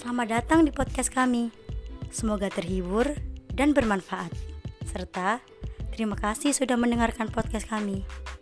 Selamat datang di podcast kami. Semoga terhibur dan bermanfaat. Serta terima kasih sudah mendengarkan podcast kami.